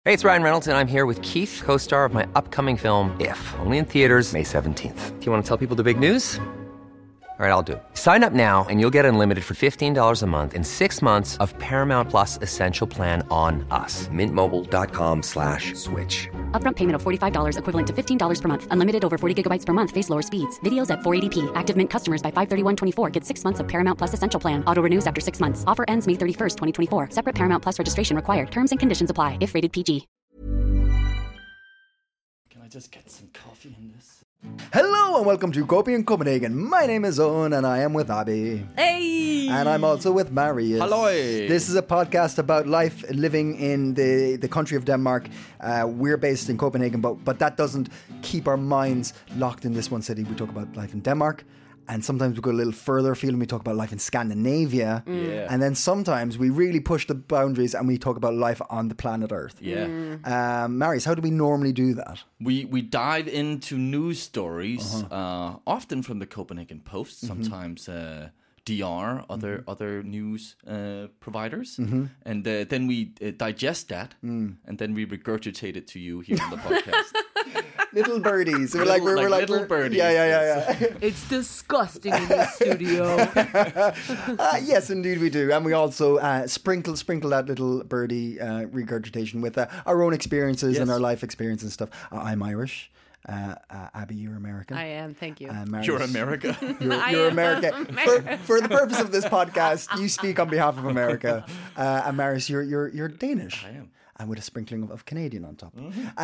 Hey, it's Ryan Reynolds, and I'm here with Keith, co-star of my upcoming film, If, only in theaters May 17th. Do you want to tell people the big news? All right, I'll do it. Sign up now and you'll get unlimited for $15 a month and 6 months of Paramount Plus Essential Plan on us. MintMobile.com/switch. Upfront payment of $45 equivalent to $15 per month. Unlimited over 40 gigabytes per month. Face lower speeds. Videos at 480p. Active Mint customers by 531.24 get 6 months of Paramount Plus Essential Plan. Auto renews after 6 months. Offer ends May 31st, 2024. Separate Paramount Plus registration required. Terms and conditions apply if rated PG. Can I just get some coffee in this? Hello and welcome to Copy in Copenhagen. My name is Owen and I am with Abby. Hey! And I'm also with Marius. Hello! This is a podcast about life living in the country of Denmark. We're based in Copenhagen, but that doesn't keep our minds locked in this one city. We talk about life in Denmark. And sometimes we go a little further afield and we talk about life in Scandinavia. Yeah. And then sometimes we really push the boundaries and we talk about life on the planet Earth. Yeah. Marius, how do we normally do that? We dive into news stories, often from the Copenhagen Post, sometimes DR, other news providers. And then we digest that, and then we regurgitate it to you here on the podcast. Little birdies. We're Little little birdies. Yeah. It's disgusting in the studio. Yes, indeed we do. And we also sprinkle that little birdie regurgitation with our own experiences and our life experience and stuff. I'm Irish. Abby, you're American. I am, thank you. Marius, You're America. You're America. For the purpose of this podcast, you speak on behalf of America. And Marius, you're Danish. I am. And with a sprinkling of Canadian on top.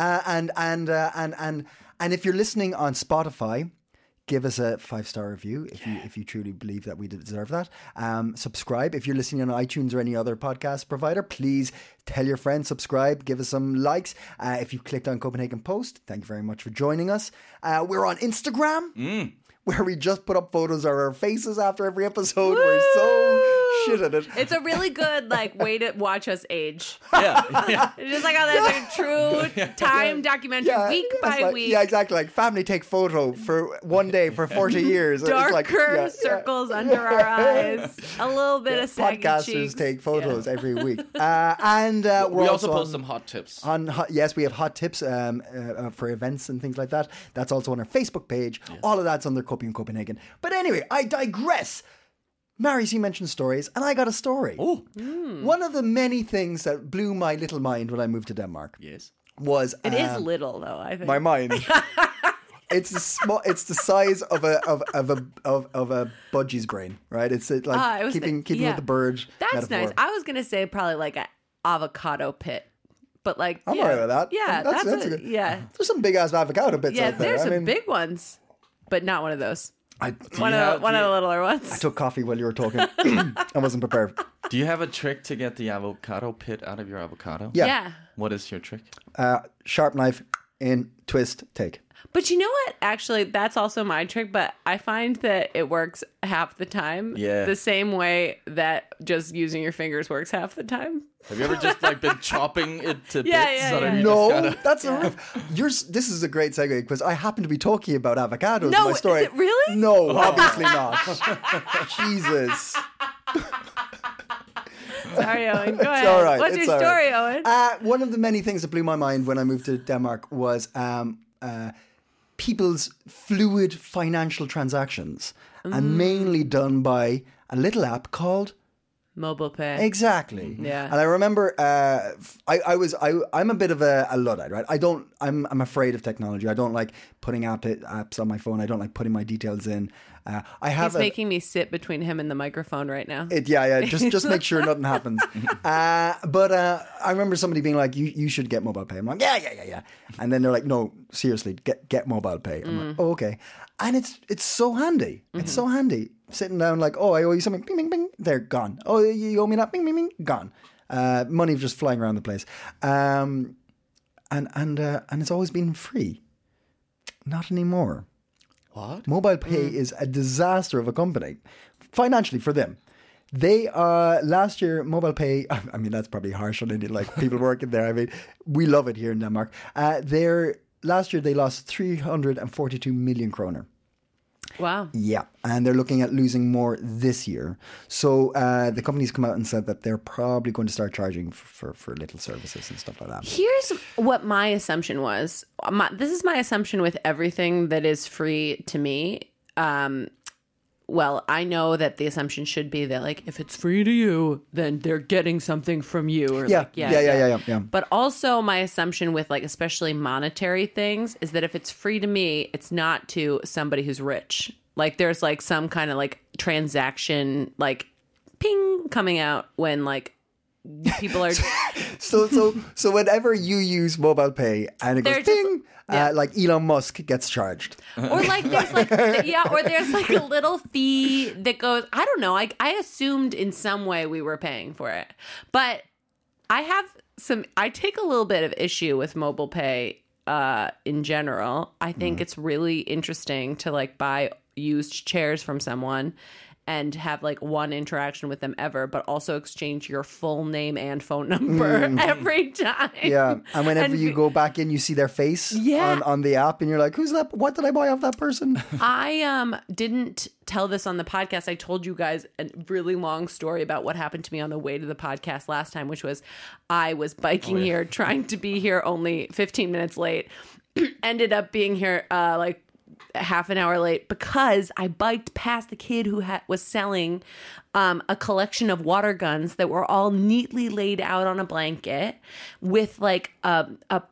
And if you're listening on Spotify, give us a 5-star review if you truly believe that we deserve that. Subscribe. If you're listening on iTunes or any other podcast provider, please tell your friends, subscribe, give us some likes. If you clicked on Copenhagen Post, thank you very much for joining us. We're on Instagram, where we just put up photos of our faces after every episode. We're so shit at it. It's a really good way to watch us age. Yeah. It's just like a true time documentary, week by week. Yeah, exactly. Like family take photo for one day for 40 years. Darker circles under our eyes. A little bit of saggy podcasters cheeks. take photos every week. And We also post some hot tips. Yes, we have hot tips for events and things like that. That's also on our Facebook page. Yes. All of that's under Copy in Copenhagen. But anyway, I digress. Marius, you mentioned stories, and I got a story. Oh. One of the many things that blew my little mind when I moved to Denmark was... It is little, though, I think. My mind. It's the size of a budgie's brain, right? It's keeping with the bird. That's metaphor. nice. I was going to say probably like an avocado pit. But I'm all right with that. Yeah, that's a good. Yeah. There's some big ass avocado bits out there. There's some big ones, but not one of those. One of the littler ones. I took coffee while you were talking. I wasn't prepared. Do you have a trick to get the avocado pit out of your avocado? Yeah. What is your trick? Sharp knife in, twist, take. But you know what? Actually, that's also my trick, but I find that it works half the time. Yeah. The same way that just using your fingers works half the time. Have you ever just been chopping it to bits? That's this is a great segue because I happen to be talking about avocados No, in my story. is it really? No, obviously not. Jesus. Sorry, Owen. Go ahead. All right. What's your story, Owen? One of the many things that blew my mind when I moved to Denmark was people's fluid financial transactions, and mainly done by a little app called Mobile pay. Exactly. Yeah. And I remember I'm a bit of a Luddite, right? I'm afraid of technology. I don't like putting apps on my phone. I don't like putting my details in. He's making me sit between him and the microphone right now. Just make sure nothing happens. But I remember somebody being like, you should get mobile pay. I'm like, yeah. And then they're like, no, seriously, get mobile pay. I'm like, oh, okay. And it's so handy. It's so handy. Sitting down like, oh, I owe you something. Bing, bing, bing. They're gone. Oh, you owe me that. Bing, bing, bing. Gone. Money just flying around the place. And it's always been free. Not anymore. What? Mobile pay is a disaster of a company, financially for them. They last year mobile pay. I mean, that's probably harsh on any people working there. I mean, we love it here in Denmark. Last year they lost 342 million kroner. Wow. Yeah, and they're looking at losing more this year. So the company's come out and said that they're probably going to start charging for little services and stuff like that. Here's what my assumption was. This is my assumption with everything that is free to me. Well, I know that the assumption should be that, like, if it's free to you, then they're getting something from you. Or Yeah, like, yeah. But also my assumption with, like, especially monetary things is that if it's free to me, it's not to somebody who's rich. Like, there's, like, some kind of, like, transaction, like, ping coming out when, like, people are... So whenever you use mobile pay and it goes They're just- ping, yeah. like Elon Musk gets charged. Or like there's like or there's like a little fee that goes. I don't know. I assumed in some way we were paying for it, but I take a little bit of issue with mobile pay in general. I think it's really interesting to like buy used chairs from someone and have like one interaction with them ever, but also exchange your full name and phone number every time. Yeah, and whenever you go back in, you see their face on the app, and you're like, "Who's that? What did I buy off that person?" I didn't tell this on the podcast. I told you guys a really long story about what happened to me on the way to the podcast last time, which was I was biking here, trying to be here only 15 minutes late, ended up being here like half an hour late because I biked past the kid who was selling a collection of water guns that were all neatly laid out on a blanket with like a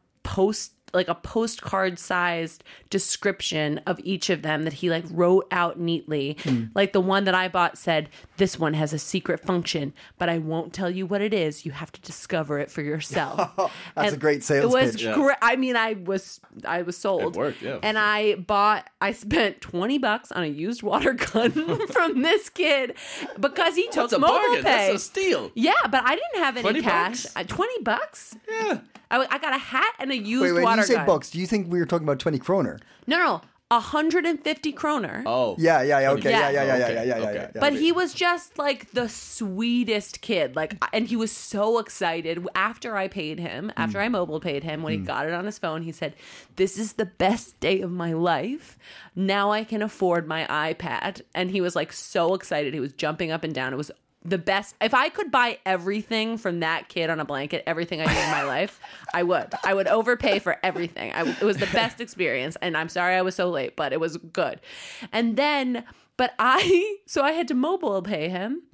postcard sized description of each of them that he like wrote out neatly. Like the one that I bought said, "This one has a secret function, but I won't tell you what it is. You have to discover it for yourself." That's a great sales It was pitch. great. I mean, I was sold. It worked, yeah. And I spent $20 on a used water gun from this kid because he took That's a mobile bargain. pay. That's a steal. Yeah, but I didn't have any 20 cash. bucks? $20? Yeah. I got a hat and a used Wait, when water you say gun. bucks, do you think we were talking about 20 kroner? No, 150 kroner. Oh. Yeah, okay, Yeah. yeah. But he was just like the sweetest kid. Like, and he was so excited after I paid him, after I mobile paid him, when he got it on his phone, he said, "This is the best day of my life. Now I can afford my iPad." And he was like so excited. He was jumping up and down. It was the best. If I could buy everything from that kid on a blanket, everything I did in my life, I would. I would overpay for everything. It was the best experience. And I'm sorry I was so late, but it was good. And then, so I had to mobile pay him.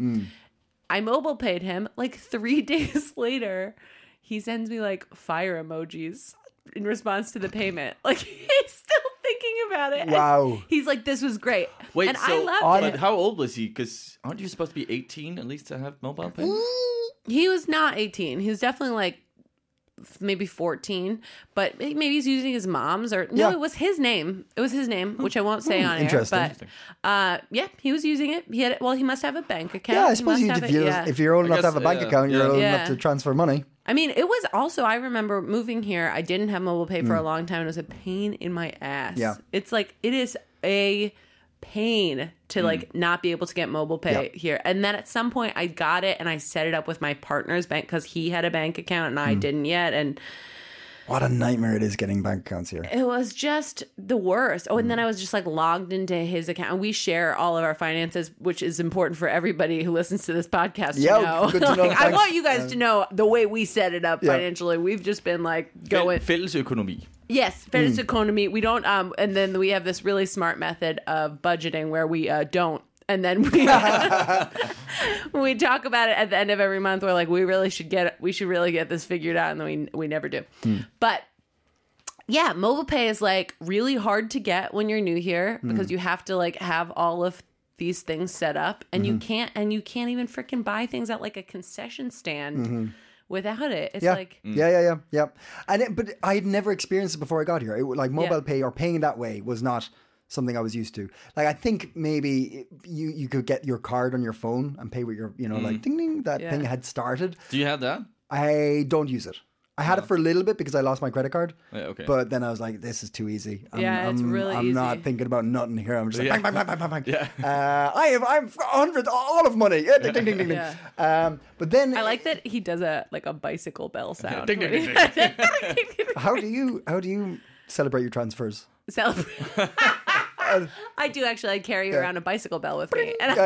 I mobile paid him. Like 3 days later, he sends me like fire emojis in response to the payment. Like he's still thinking about it. Wow. And he's like, "This was great." Wait, and so I loved it. how old was he? Because aren't you supposed to be 18 at least to have mobile pay? He was not 18. He was definitely like maybe 14, but maybe he's using his mom's or no, Yeah. it was his name. It was his name, which I won't say on air. Interesting. But yeah, he was using it. He had it. Well, he must have a bank account. Yeah, I He suppose must have it, if you're old enough to guess, have a bank yeah, account, you're yeah. old Yeah. enough to transfer money. I mean, it was also, I remember moving here, I didn't have mobile pay for a long time. It was a pain in my ass. Yeah. It's like, it is a pain to like not be able to get mobile pay here. And then at some point I got it and I set it up with my partner's bank because he had a bank account and I didn't yet. And What a nightmare it is getting bank accounts here. it was just the worst. Oh, and then I was just like logged into his account. And we share all of our finances, which is important for everybody who listens to this podcast to Yeah, know. good to know. Like, I Thanks. want you guys to know the way we set it up financially. We've just been like going. Fælles økonomi. Yes, fælles economy. We don't. And then we have this really smart method of budgeting where we don't. And then when we talk about it at the end of every month, we're like, we should really get this figured out, and then we never do. But yeah, mobile pay is like really hard to get when you're new here because you have to like have all of these things set up, and you can't even freaking buy things at like a concession stand without it. It's like Yeah. But I had never experienced it before I got here. Like mobile pay or paying that way was not something I was used to. Like I think maybe you could get your card on your phone and pay with your, like ding ding, that thing had started. Do you have that? I don't use it. I had it for a little bit because I lost my credit card. Yeah, okay. But then I was like, this is too easy. It's really I'm easy. not thinking about nothing here. I'm just like, Yeah. bang, bang, bang, bang, bang. Yeah. I'm 100, all of money. Yeah, ding, ding, ding, ding, ding. Yeah. But then I like that he does a bicycle bell sound. Ding, ding, when ding, he- how do you celebrate your transfers? Celebrate. I do actually. I carry around a bicycle bell with me. And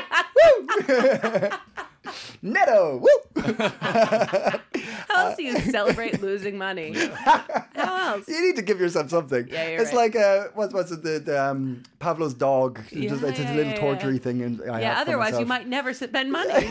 Netto. Woo! how else do you celebrate losing money? How else? You need to give yourself something. Yeah, you're it's right. like what's it? The Pavlov's dog. It's a little tortury thing. And I have for Otherwise you myself. might never spend money.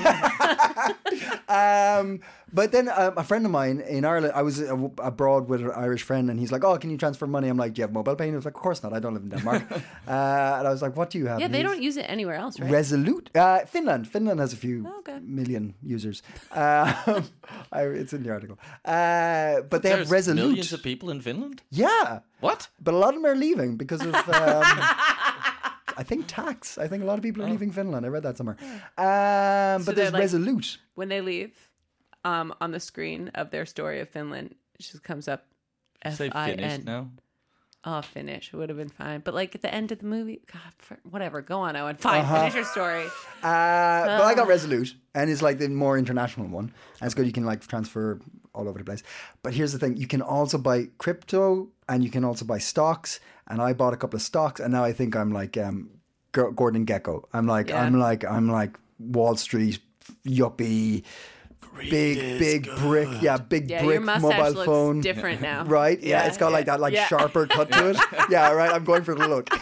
But then a friend of mine in Ireland, I was abroad with an Irish friend, and he's like, "Oh, can you transfer money?" I'm like, "Do you have mobile pay?" And he was like, "Of course not. I don't live in Denmark." And I was like, "What do you have?" Yeah, And they he's- don't use it anywhere else, right? Resolute. Finland. Finland has a few Okay. million users. It's in the article. But they have There's Resolute. millions of people in Finland. Yeah. What? But a lot of them are leaving because of, I think, tax. I think a lot of people are leaving Finland. I read that somewhere. But they're there's like- Resolute. When they leave, on the screen of their story of Finland, it just comes up Say Finnish F-I-N. now. Oh, Finnish would have been fine. But like at the end of the movie, God, whatever. Go on, Owen. Fine, finish your story. But I got Resolute, and it's like the more international one. And it's good. You can like transfer all over the place. But here's the thing: you can also buy crypto, and you can also buy stocks. And I bought a couple of stocks, and now I think I'm like Gordon Gekko. I'm like Wall Street yuppie. Big brick, big Yeah, brick your mustache mobile looks phone, different now. right? Yeah, it's got like that, sharper cut to it. Yeah, right. I'm going for the look.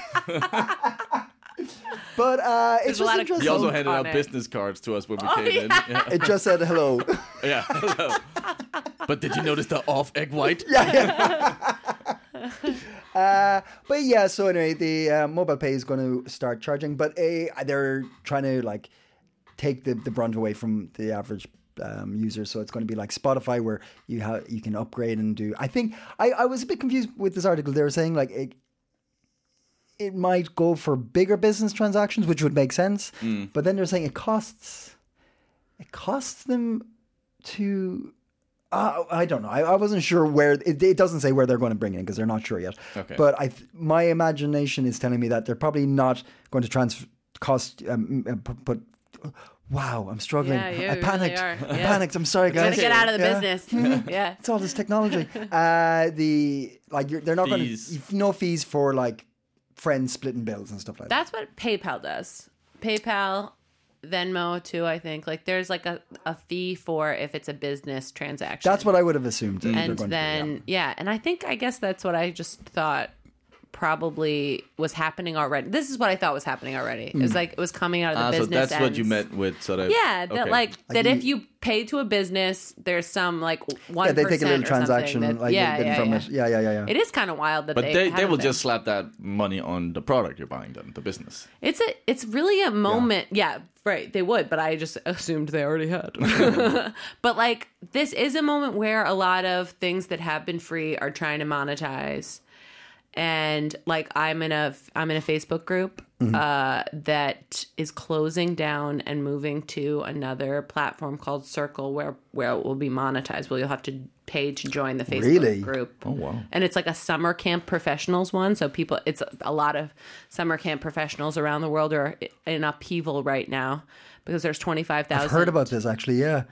But it's a just lot of interesting. He also Coke handed on out it. business cards to us when we came in. Yeah. It just said hello. Yeah. Hello. But did you notice the off egg white? But yeah, so anyway, the mobile pay is going to start charging, but they're trying to like take the brunt away from the average user. So it's going to be like Spotify, where you can upgrade and do. I think I was a bit confused with this article. They were saying like it might go for bigger business transactions, which would make sense. But then they're saying it costs them to. I don't know. I wasn't sure where it doesn't say where they're going to bring it in because they're not sure yet. Okay. But my imagination is telling me that they're probably not going to cost. But wow, I'm struggling. Yeah, you I panicked. really are. I Yeah. panicked. I'm sorry, guys. Gotta get out of the Yeah. business. Yeah. It's all this technology. They're not going Fees. to no fees for like friends splitting bills and stuff like that. That's what PayPal does. PayPal, Venmo too, I think. Like there's like a fee for if it's a business transaction. That's what I would have assumed. that they're And going to do, then and I guess that's what I just thought probably was happening already. This is what I thought was happening already. It was like it was coming out of the So business that's what ends. you meant with sort of. Yeah, that okay. like that you- if you pay to a business, there's some like 1%. Yeah, they take a little transaction that, like a bit from it. Yeah. It is kind of wild that But they haven't will been. just slap that money on the product you're buying, then the business. It's really a moment. Yeah, right. They would, but I just assumed they already had. But like this is a moment where a lot of things that have been free are trying to monetize. And like I'm in a Facebook group that is closing down and moving to another platform called Circle where it will be monetized. Well, you'll have to pay to join the Facebook Really? group. Oh, wow. And it's like a summer camp professionals one. So it's a lot of summer camp professionals around the world are in upheaval right now because there's 25,000. I've heard about this actually. Yeah.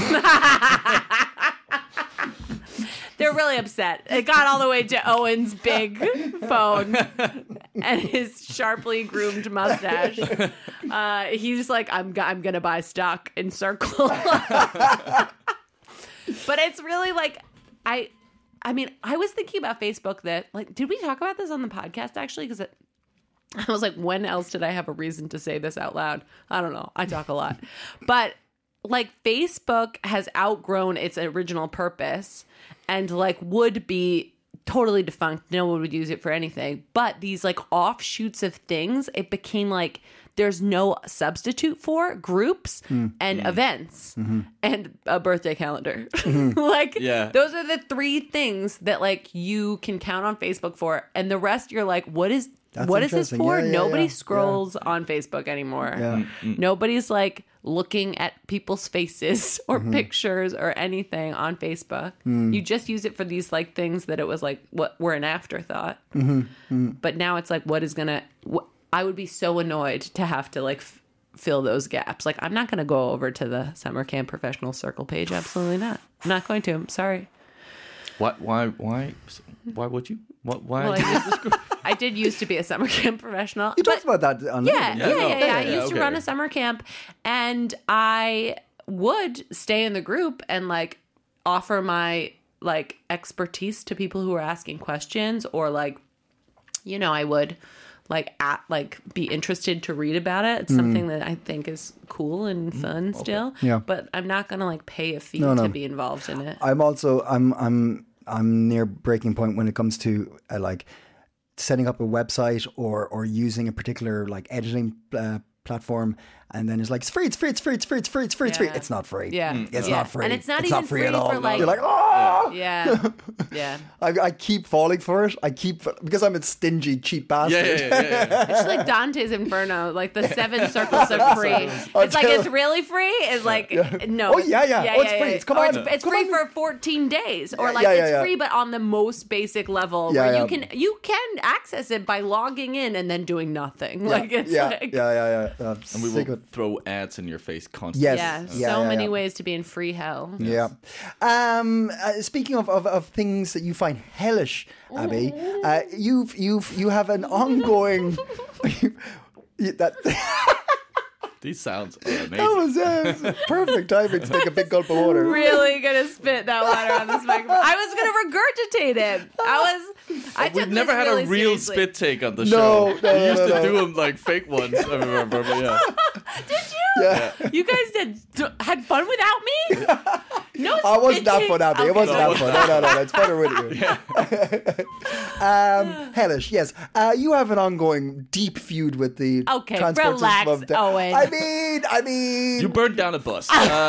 They're really upset. It got all the way to Owen's big phone and his sharply groomed mustache. He's like, I'm gonna buy stock in Circle. But it's really like, I mean, I was thinking about Facebook that, like, did we talk about this on the podcast actually? Because I was like, when else did I have a reason to say this out loud? I don't know. I talk a lot. But like Facebook has outgrown its original purpose and like would be totally defunct. No one would use it for anything. But these like offshoots of things, it became like there's no substitute for groups and events and a birthday calendar. Like Yeah. those are the three things that like you can count on Facebook for. And the rest you're like, what is this interesting. for? Yeah, Nobody yeah. scrolls on Facebook anymore. Yeah. Nobody's like looking at people's faces or pictures or anything on Facebook. You just use it for these like things that it was like what were an afterthought. But now it's like I would be so annoyed to have to like fill those gaps. Like I'm not going to go over to the summer camp professional Circle page. Absolutely not. I'm not going to. I'm sorry. Why would you? Why? Well, I did used to be a summer camp professional. You talked about that on Yeah. I used to okay. run a summer camp, and I would stay in the group and like offer my like expertise to people who were asking questions, or like, you know, I would like be interested to read about it. It's something that I think is cool and fun still. Yeah. But I'm not gonna like pay a fee No. to be involved in it. I'm near breaking point when it comes to like setting up a website or using a particular like editing platform, and then it's like it's free. Yeah. It's not free. Yeah. It's Yeah. not free. And it's not it's even not free free at all. for, like- You're like, oh. Yeah. I keep falling for it. Because I'm a stingy, cheap bastard. Yeah. It's like Dante's Inferno, like the 7 circles of free. It's like, it's really free. It's like, no. Oh, yeah. Oh, it's free. It's come Or on. It's Come free on. for 14 days. Or Yeah, like yeah, it's yeah. free, but on the most basic level Yeah, where yeah. you can access it by logging in and then doing nothing. Like it's like, yeah. And we will throw ads in your face constantly. Yes. yeah, so many yeah. ways to be in free hell. Yeah. Speaking of things that you find hellish, Abby, you have an ongoing. that These sounds are amazing. that was perfect timing to take a big gulp of water. Really gonna spit that water on this microphone. I was gonna regurgitate it. I took We've never this had really a real seriously. spit take on the No, show. no, We no, used no, to no. do them like fake ones. I remember, but yeah. Did you? Yeah. You guys had fun without me? No, I wasn't that spitting. fun, Abby. It Okay. wasn't that fun. No. It's funner with you. Hellish, yes. You have an ongoing deep feud with the Okay, transport relax, system of Owen. I mean. You burned down a bus.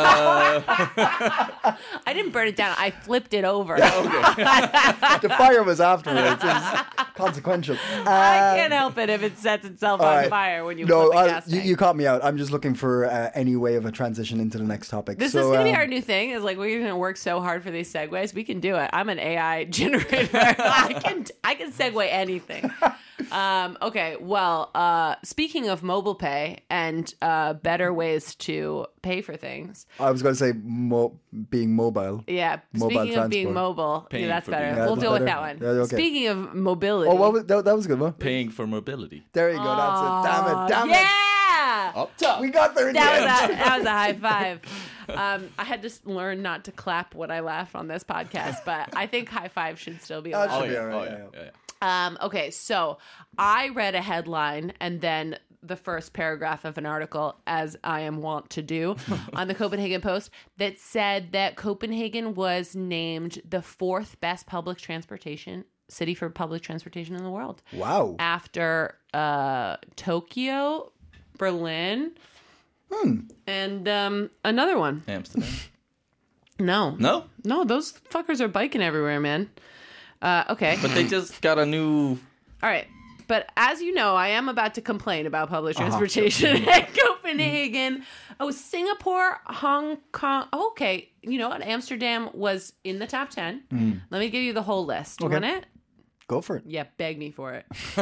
I didn't burn it down. I flipped it over. the fire was afterwards. It's consequential. I can't help it if it sets itself all on right. fire when you No, flip a gas tank. you caught me out. I'm just looking for any way of a transition into the next topic. This is going to be our new thing. Is like we're going to work so hard for these segues. We can do it. I'm an AI generator. I can segue anything. Okay. Well, speaking of mobile pay and better ways to pay for things. I was going to say being mobile. Yeah. Mobile Speaking of being transport. mobile, Paying that's for better. being- Yeah, We'll that's deal with better. that one. Yeah, okay. Speaking of mobility. Oh, that was a good one. Paying for mobility. There you go. That's it. Damn it. Yeah. Up top. We got there in the end. That was a high five. I had to learn not to clap when I laugh on this podcast, but I think high five should still be allowed. Oh, Oh, should be yeah. all right, Oh, yeah. yeah. Okay, so I read a headline and then the first paragraph of an article, as I am wont to do, on the Copenhagen Post that said that Copenhagen was named the 4th best public transportation city for public transportation in the world. Wow. After Tokyo, Berlin, and another one. Amsterdam. No, those fuckers are biking everywhere, man. Okay. But they just got a new. All right. But as you know, I am about to complain about public transportation in Copenhagen. Oh, Singapore, Hong Kong. Oh, okay. You know what? Amsterdam was in the top 10. Let me give you the whole list. You want it? Go for it. Yeah, beg me for it.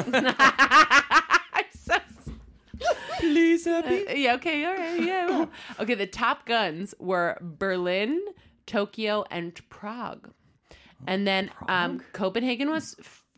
I'm so... Please, Abby. Yeah, okay, all right. Yeah. Okay, the top guns were Berlin, Tokyo, and Prague. And then Copenhagen was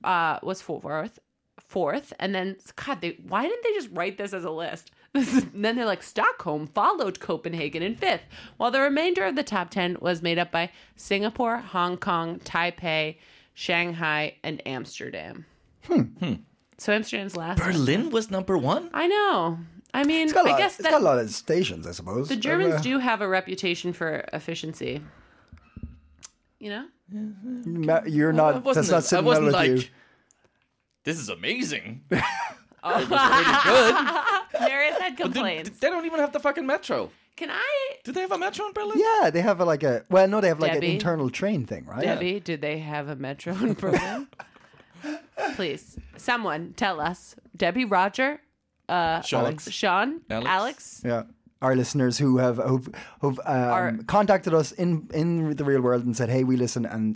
fourth, and then God, why didn't they just write this as a list? And then they're like Stockholm followed Copenhagen in 5th, while the remainder of the top 10 was made up by Singapore, Hong Kong, Taipei, Shanghai, and Amsterdam. So Amsterdam's last. Berlin was number 1? I know. I mean, It's got I guess got a lot of stations, I suppose. the Germans do have a reputation for efficiency. You know? You're not. That's not I sitting well wasn't with like, you. this is amazing. It was pretty good. Marius had But complaints. they don't even have the fucking metro. Can I, Do they have a metro in Berlin? Yeah, they have they have like Debbie? an internal train thing, right? Debbie, do they have a metro in Berlin? Please, someone tell us. Debbie, Roger, Sean. Sean, Alex? Alex. Yeah. Our listeners who've contacted us in the real world and said, "Hey, we listen," and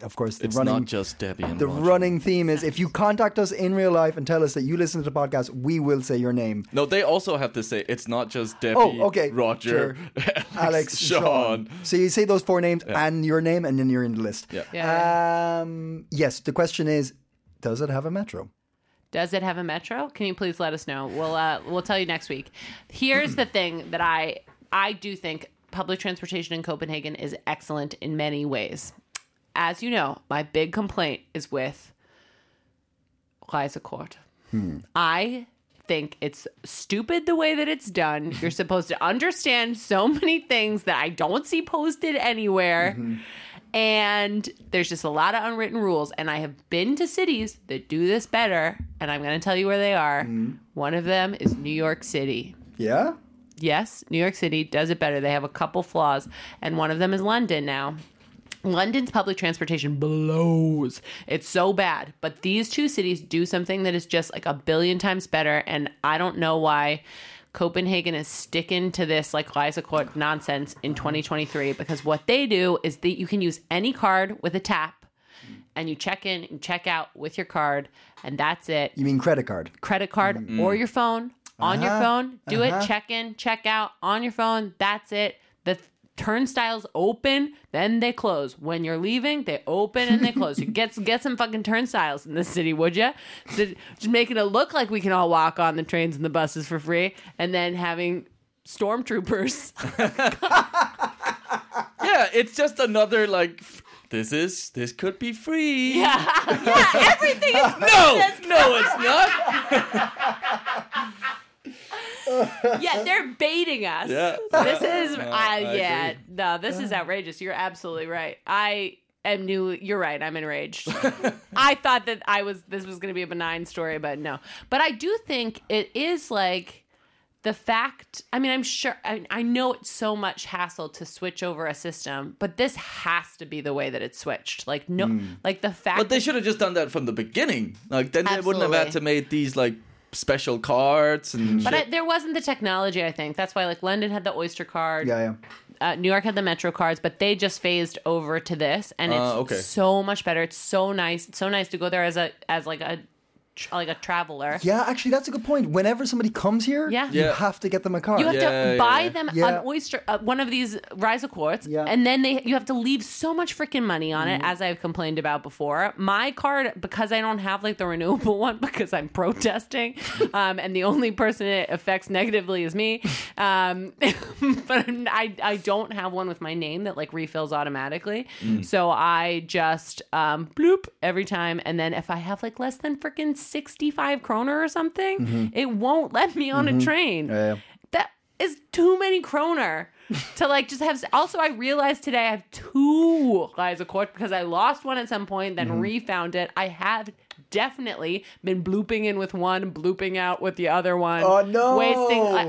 of course, the It's running... not just Debbie and The Roger. running theme is if you contact us in real life and tell us that you listen to the podcast, we will say your name. No, they also have to say it's not just Debbie, Oh, okay. Roger, Sure. Alex, Sean. So you say those 4 names and your name, and then you're in the list. Yeah. Yes, the question is, does it have a metro? Does it have a metro? Can you please let us know? We'll tell you next week. Here's the thing that I do think public transportation in Copenhagen is excellent in many ways. As you know, my big complaint is with Rejsekort. I think it's stupid the way that it's done. You're supposed to understand so many things that I don't see posted anywhere. And there's just a lot of unwritten rules. And I have been to cities that do this better. And I'm going to tell you where they are. One of them is New York City. Yeah? Yes, New York City does it better. They have a couple flaws. And one of them is London now. London's public transportation blows. It's so bad. But these 2 cities do something that is just like a billion times better. And I don't know why Copenhagen is sticking to this like Rejsekort nonsense in 2023, because what they do is that you can use any card with a tap and you check in and check out with your card, and that's it. You mean credit card? Credit card or your phone. On your phone, do it, check in, check out on your phone. That's it. The turnstiles open, then they close. When you're leaving, they open and they close. You get some fucking turnstiles in this city, would you? So just making it look like we can all walk on the trains and the buses for free, and then having stormtroopers. Yeah, it's just another like. This could be free. Yeah, everything is No, it's not. Yeah, they're baiting us. Yeah. This is I agree. no, this is outrageous. You're absolutely right. You're right. I'm enraged. I thought that this was going to be a benign story, but no. But I do think it is like the fact, I mean, I'm sure, I know it's so much hassle to switch over a system, but this has to be the way that it's switched. Like, no, like the fact But they that- should have just done that from the beginning. Like, then they wouldn't have Absolutely. had to make these, like, special cards and But shit. there wasn't the technology, I think. That's why, like, London had the Oyster card. Yeah. New York had the Metro cards, but they just phased over to this, and it's okay. so much better. It's so nice. It's so nice to go there as a traveler. Yeah, actually, that's a good point. Whenever somebody comes here, Yeah. you Yeah. have to get them a card. You have to buy them Yeah. an Oyster, one of these Rejsekorts, Yeah. and then you have to leave so much freaking money on it, as I've complained about before. My card, because I don't have like the renewable one, because I'm protesting, and the only person it affects negatively is me. But I don't have one with my name that like refills automatically, so I just bloop every time, and then if I have like less than freaking 65 kroner or something, it won't let me on a train. Yeah. That is too many kroner to like just have. Also, I realized today I have 2 Rejsekort because I lost one at some point, then refound it. I have definitely been blooping in with one, blooping out with the other one. Oh, no. Wasting.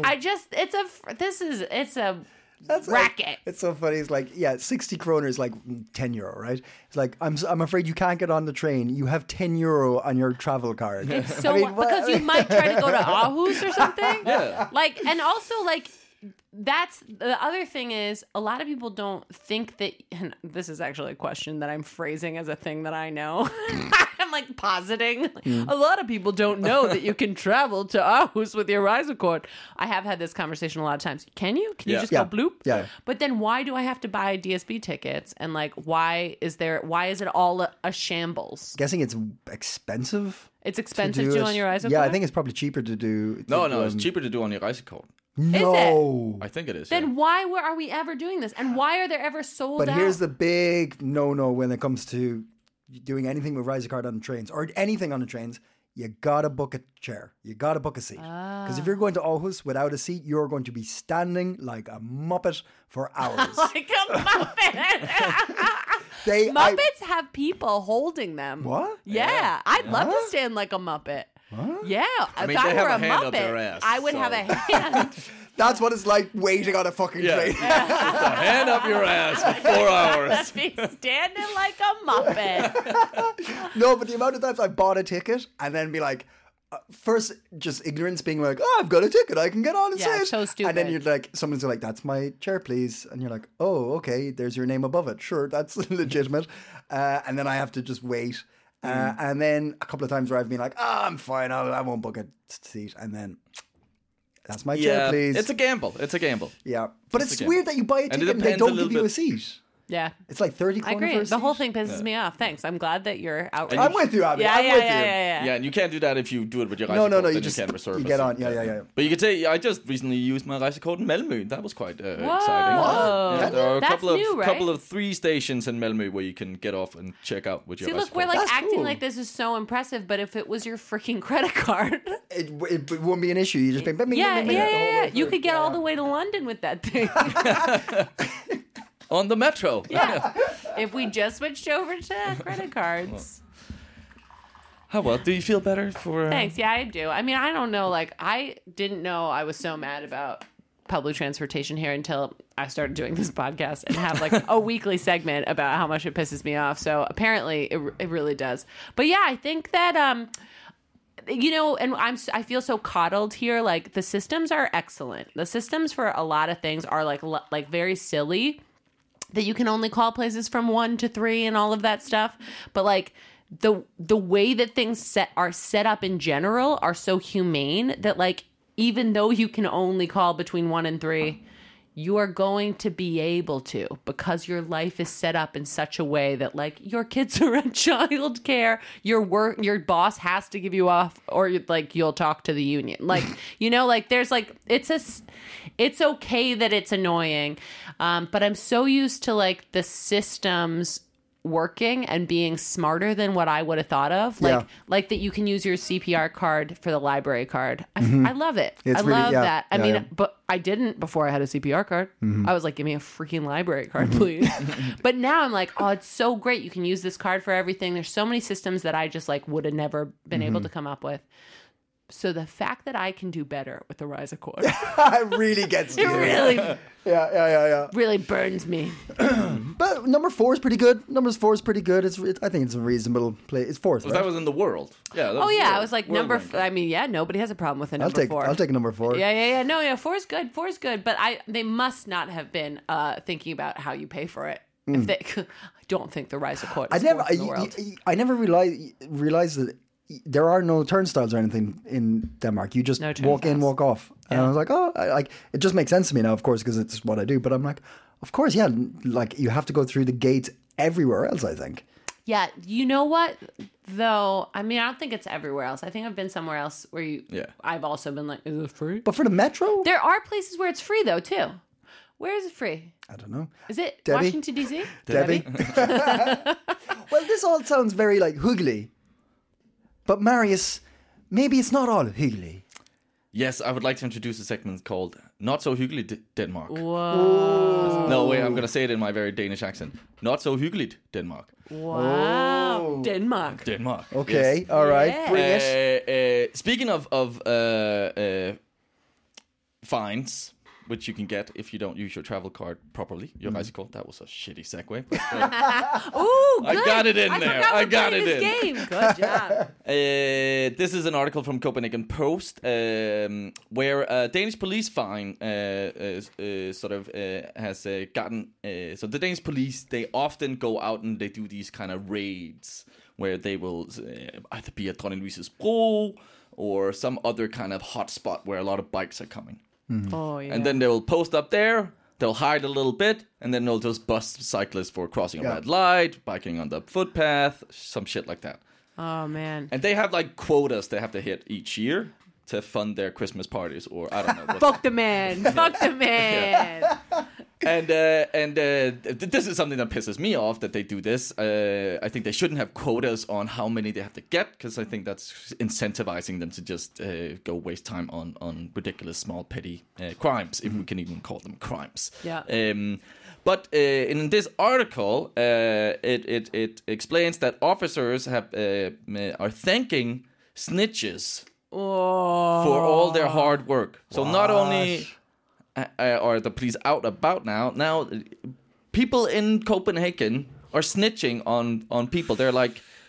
It's a racket. It's so funny. It's like, 60 kroner is like €10, right? It's like, I'm afraid you can't get on the train. You have €10 on your travel card. It's so because you might try to go to Aarhus or something. Yeah. Like, and also like that's the other thing is a lot of people don't think that, and this is actually a question that I'm phrasing as a thing that I know. I'm like positing. A lot of people don't know that you can travel to Aarhus with your Rejsekort. I have had this conversation a lot of times. Can you? Can you Yeah. just Yeah. go bloop? Yeah. But then why do I have to buy DSB tickets? And like, why is it all a shambles? Guessing it's expensive. It's expensive to do it. on your Rejsekort? Yeah, I think it's probably cheaper to do. No, it's cheaper to do on your Rejsekort. No. I think it is. Then why are we ever doing this? And why are there ever sold But out? here's the big no when it comes to doing anything with Rejsekort on the trains or anything on the trains. You gotta book a chair. You gotta book a seat. Because if you're going to Aarhus without a seat, you're going to be standing like a muppet for hours. like a Muppet. Muppets have people holding them. What? Yeah. I'd love to stand like a Muppet. Yeah. mean, if I they have were a a hand Muppet, up their ass, I would so- have a hand. That's what it's like waiting on a fucking train. Just a hand up your ass for 4 hours. be standing like a Muppet. No, but the amount of times I bought a ticket and then be like, first, just ignorance, being like, "Oh, I've got a ticket, I can get on and Yeah, say it." so stupid. And then you're like, someone's like, "That's my chair, please," and you're like, "Oh, okay. There's your name above it. Sure, that's legitimate." And then I have to just wait. And then a couple of times where I've been like, I'm fine, I won't book a seat, and then that's my chair, please. It's a gamble. Yeah, but it's again. weird that you buy a And ticket it and they depends a don't little give you a bit. seat. Yeah. It's like 30 I kroner agree. for a The seat. whole thing pisses me off. Thanks. I'm glad that you're out. I'm with you, Abby. Yeah, I'm yeah, with yeah, you. yeah. Yeah, and you can't do that if you do it with your No, Reisekort. no, you then just you can't reserve you a get seat. on. Yeah. But you could say, I just recently used my Reisekort in Malmö. That was quite exciting. Whoa. Yeah, there are a That's couple of new, right? couple of 3 stations in Malmö where you can get off and check out with your See, look, Reisekort. we're like That's acting cool. like this is so impressive, but if it was your freaking credit card, It won't be an issue. You just bing, yeah, you could get all the way to London with that thing. On the metro. Yeah, if we just switched over to credit cards. How well? Do you feel better for... Thanks. Yeah, I do. I mean, I don't know. Like, I didn't know I was so mad about public transportation here until I started doing this podcast and have like a weekly segment about how much it pisses me off. So apparently it really does. But yeah, I think that, you know, and I feel so coddled here. Like, the systems are excellent. The systems for a lot of things are like very silly, that you can only call places from 1 to 3 and all of that stuff. But like the way that things are set up in general are so humane that, like, even though you can only call between 1 and 3, you are going to be able to, because your life is set up in such a way that, like, your kids are in childcare, your boss has to give you off, or like you'll talk to the union. Like, you know, like there's like, it's okay that it's annoying. But I'm so used to like the systems working and being smarter than what I would have thought of. Like, like that you can use your CPR card for the library card. I love it. It's I really- love yeah, that. I yeah, mean, yeah. but I didn't before I had a CPR card. I was like, give me a freaking library card, please. But now I'm like, oh, it's so great. You can use this card for everything. There's so many systems that I just like would have never been able to come up with. So the fact that I can do better with the Reisekort, It really gets it you. really, Yeah. really burns me. But number 4 is pretty good. Number 4 is pretty good. I think it's a reasonable play. It's 4th, That right? was in the world. Yeah. That Oh was yeah, world- I was like world number. ranking. I mean, yeah, nobody has a problem with a number 4. I'll take number 4. Yeah. No, 4 is good. 4 is good, but they must not have been thinking about how you pay for it. If they, I don't think the Reisekort is fourth in the world. I never realized that there are no turnstiles or anything in Denmark. You just No walk in, turnstiles. walk off. And I was like, like it just makes sense to me now, of course, because it's what I do. But I'm like, of course, yeah, like you have to go through the gates everywhere else, I think. Yeah, you know what though? I mean, I don't think it's everywhere else. I think I've been somewhere else where I've also been like, is it free? But for the metro, There are places where it's free though too. Where is it free? I don't know. Is it Debbie? Washington D.C.? Debbie? Well, this all sounds very like hyggelig. But Marius, maybe it's not all hyggelig. Yes, I would like to introduce a segment called Not So Hyggeligt Denmark. Whoa! No, wait, I'm going to say it in my very Danish accent. Not So Hyggeligt Denmark. Wow! Denmark. Denmark. Okay, Yes. all right, Yeah. bring it. Speaking of fines, which you can get if you don't use your travel card properly, your Reisekort. That was a shitty segue. But, Ooh, good. I got it in I there. forgot I we got played it this in. game. Good job. This is an article from Copenhagen Post where Danish police fine has gotten. So the Danish police, they often go out and they do these kind of raids where they will either be at Dronning Louise's Bro or some other kind of hotspot where a lot of bikes are coming. Oh yeah. And then they will post up there. They'll hide a little bit, and then they'll just bust cyclists for crossing a red light, biking on the footpath, some shit like that. Oh man. And they have like quotas they have to hit each year to fund their Christmas parties, or I don't know. What Fuck the man. Fuck the man. And this is something that pisses me off that they do this. I think they shouldn't have quotas on how many they have to get, because I think that's incentivizing them to just go waste time on ridiculous, small, petty crimes, if we can even call them crimes. Yeah. But in this article, it explains that officers are thanking snitches for all their hard work. So not only are the police out about now people in Copenhagen are snitching on people. They're like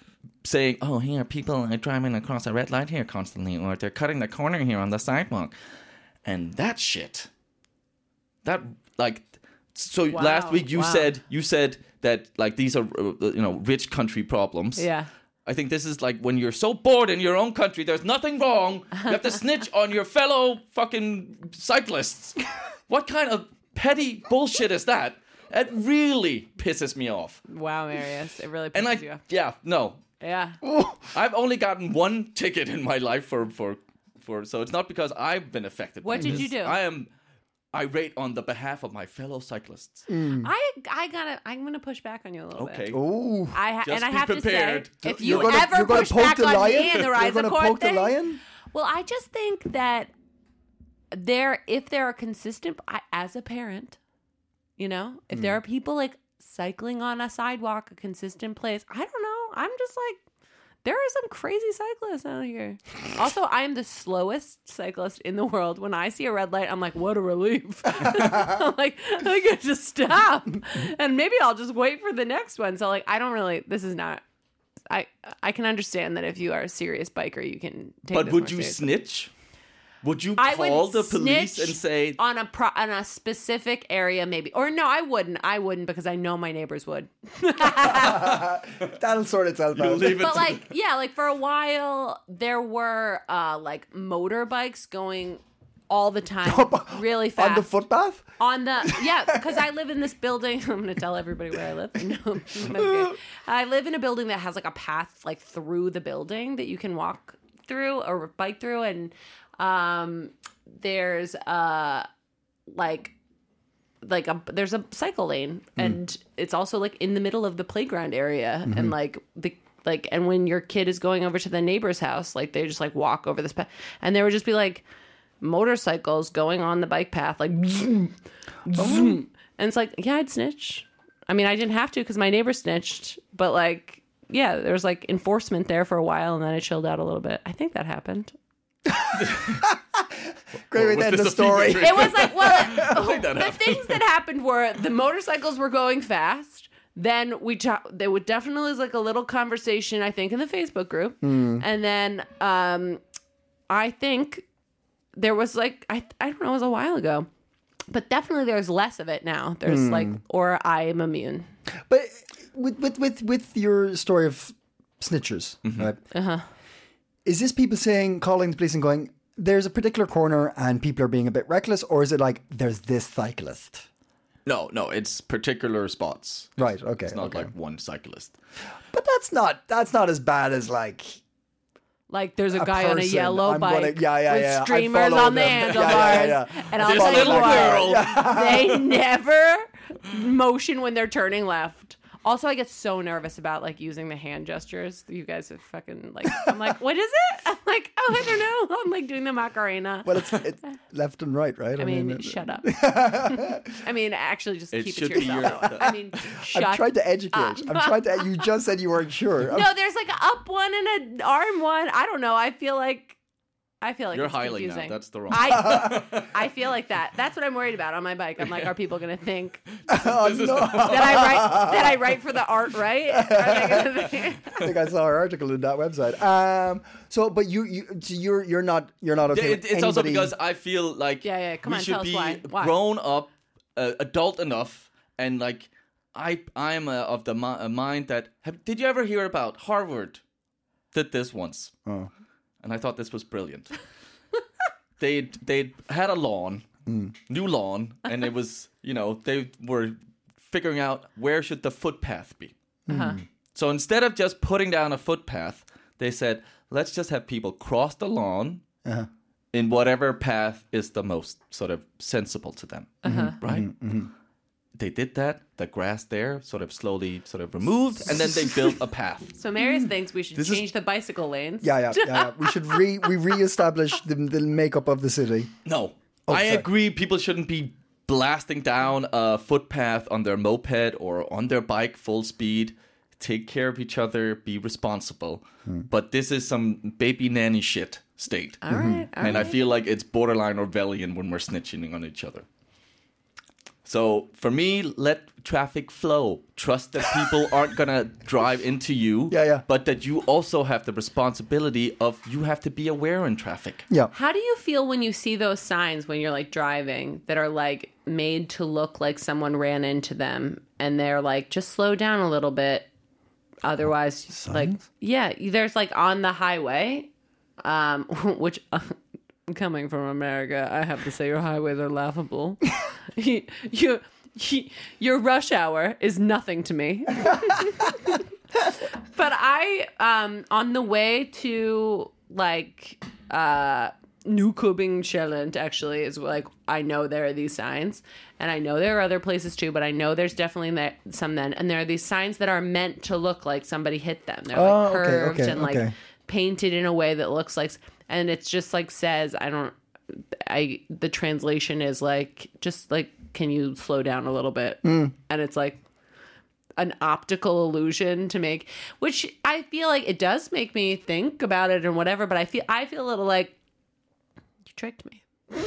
saying, "Oh, here people are driving across a red light here constantly, or they're cutting the corner here on the sidewalk," and that shit. That like, so last week you said that like these are rich country problems. Yeah. I think this is like when you're so bored in your own country, there's nothing wrong. You have to snitch on your fellow fucking cyclists. What kind of petty bullshit is that? It really pisses me off. Wow, Marius, it really pisses you off. Yeah, no. Yeah. I've only gotten one ticket in my life for so it's not because I've been affected. What did you do? I am irate on the behalf of my fellow cyclists. I'm gonna push back on you a little bit. Oh, I have prepared. to say, if You're you gonna- ever you're gonna push poke back the on lion? me in the You're Rise of gonna Court poke the thing, lion? well, I just think that if there are consistent, as a parent, if there are people like cycling on a sidewalk, a consistent place, I don't know. I'm just like, there are some crazy cyclists out here. Also, I am the slowest cyclist in the world. When I see a red light, I'm like, what a relief. I'm like, I get to stop. And maybe I'll just wait for the next one. So, like, I don't really, this is not, I can understand that if you are a serious biker, you can take But this would more you seriously. snitch? Would you I call would the police snitch and say, on a specific area, maybe, or no, I wouldn't because I know my neighbors would. that'll sort itself out. leave it But to like, yeah, like for a while there were like motorbikes going all the time, really fast On the footpath? because I live in this building. I'm going to tell everybody where I live. No, okay. I live in a building that has like a path like through the building that you can walk through or bike through, and there's there's a cycle lane, and it's also like in the middle of the playground area, and and when your kid is going over to the neighbor's house, like they just like walk over this path, and there would just be like motorcycles going on the bike path, like zoom, zoom. And it's like, yeah, I'd snitch. I mean, I didn't have to because my neighbor snitched, but like, yeah, there was like enforcement there for a while, and then I chilled out a little bit. I think that happened. Great way to end the story. It was like, well, the things that happened were the motorcycles were going fast. Then there would definitely was like a little conversation, I think, in the Facebook group. And then I think there was like, I don't know, it was a while ago. But definitely there's less of it now. There's like, or I am immune. But with your story of snitchers, right? Is this people calling the police and going, there's a particular corner and people are being a bit reckless, or is it like there's this cyclist? No, it's particular spots. Right, okay. It's not like one cyclist. But that's not as bad as like there's a guy on a person. yellow I'm bike gonna- with streamers follow on the them. handlebars. Yeah. And I'll This tell you little what, girl. they never motion when they're turning left. Also, I get so nervous about like using the hand gestures. You guys are fucking like, I'm like, what is it? I'm like, oh, I don't know. I'm like doing the Macarena. Well, it's left and right, right? I mean, shut up. I mean, actually, just keep it should to be yourself. I mean, shut I'm trying to educate. up. You just said you weren't sure. No, there's like an up one and an arm one. I don't know. I feel like You're it's highly confusing. now. That's the wrong. I feel like that. That's what I'm worried about on my bike. I'm like, are people going to think Oh, no. that I write for the art right? Are they gonna think? I think I saw an article in that website. But you're not okay. with It's also anybody- because I feel like Yeah, come we on, should tell us be why. grown up, adult enough, and like I'm of the mind that did you ever hear about Harvard? Did this once, and I thought this was brilliant. They had a lawn, new lawn, and it was they were figuring out where should the footpath be. So instead of just putting down a footpath, they said, let's just have people cross the lawn in whatever path is the most sort of sensible to them. Right? They did that. The grass there sort of slowly sort of removed, and then they built a path. So Marius thinks we should change the bicycle lanes. Yeah. We should reestablish the makeup of the city. No, I sorry. agree. People shouldn't be blasting down a footpath on their moped or on their bike full speed. Take care of each other. Be responsible. But this is some baby nanny shit state. All right. And I feel like it's borderline Orwellian when we're snitching on each other. So for me, let traffic flow. Trust that people aren't gonna drive into you. Yeah. But that you also have the responsibility of you have to be aware in traffic. Yeah. How do you feel when you see those signs when you're like driving that are like made to look like someone ran into them and they're like, just slow down a little bit. Otherwise, like, yeah, there's like on the highway, which coming from America, I have to say your highways are laughable. Your rush hour is nothing to me. But I, on the way to like, Nykøbing actually is like, I know there are these signs and I know there are other places too, but I know there's definitely some then. And there are these signs that are meant to look like somebody hit them. They're like curved and like painted in a way that looks like, and it's just like says, the translation is like, just like, can you slow down a little bit? And it's like an optical illusion to make, which I feel like it does make me think about it and whatever, but I feel a little like, you tricked me.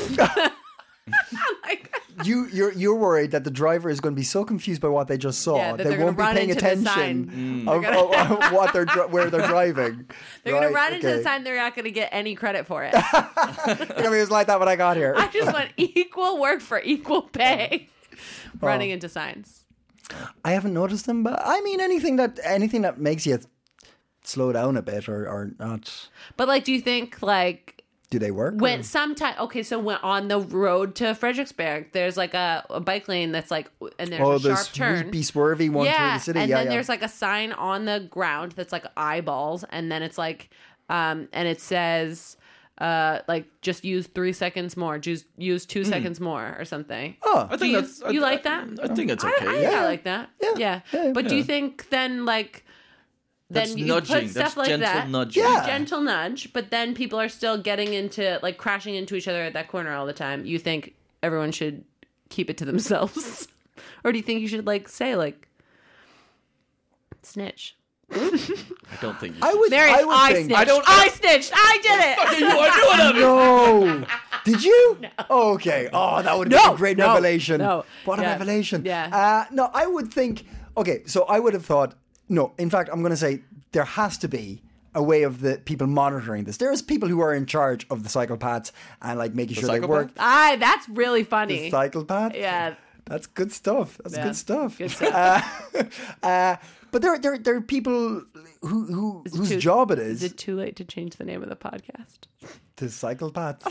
Like, you're worried that the driver is going to be so confused by what they just saw that they won't be paying attention of what where they're driving. They're going to run into the sign. They're not going to get any credit for it. It was like that when I got here. I just want equal work for equal pay. Running into signs. I haven't noticed them, but I mean anything that makes you slow down a bit or not. But like, do you think like? Do they work? When sometimes, okay, so when on the road to Frederiksberg, there's like a bike lane that's like, and there's a sharp turn. Sweepy, swervy one through the city. And then there's like a sign on the ground that's like eyeballs, and then it's like, and it says, like just use 3 seconds more, use 2 seconds more, or something. Oh, I think you like that? I think it's okay. I like that. Yeah. But do you think then like? That's then you nudging. put stuff That's like gentle that. nudging. Yeah. Gentle nudge, but then people are still getting into like crashing into each other at that corner all the time. You think everyone should keep it to themselves? Or do you think you should like say like snitch? I don't think you I would think. I snitched. I did it. you are doing it. No. Did you? No. Oh, okay. Oh, that would have been a great revelation. No. What a revelation. Yeah. No, I would think, okay, so I would have thought, no, in fact, I'm going to say there has to be a way of the people monitoring this. There's people who are in charge of the cycle paths and like making sure they work. That's really funny. The cycle path? Yeah. That's good stuff. That's good stuff. Good stuff. But there are people whose job it is. Is it too late to change the name of the podcast? The cycle paths.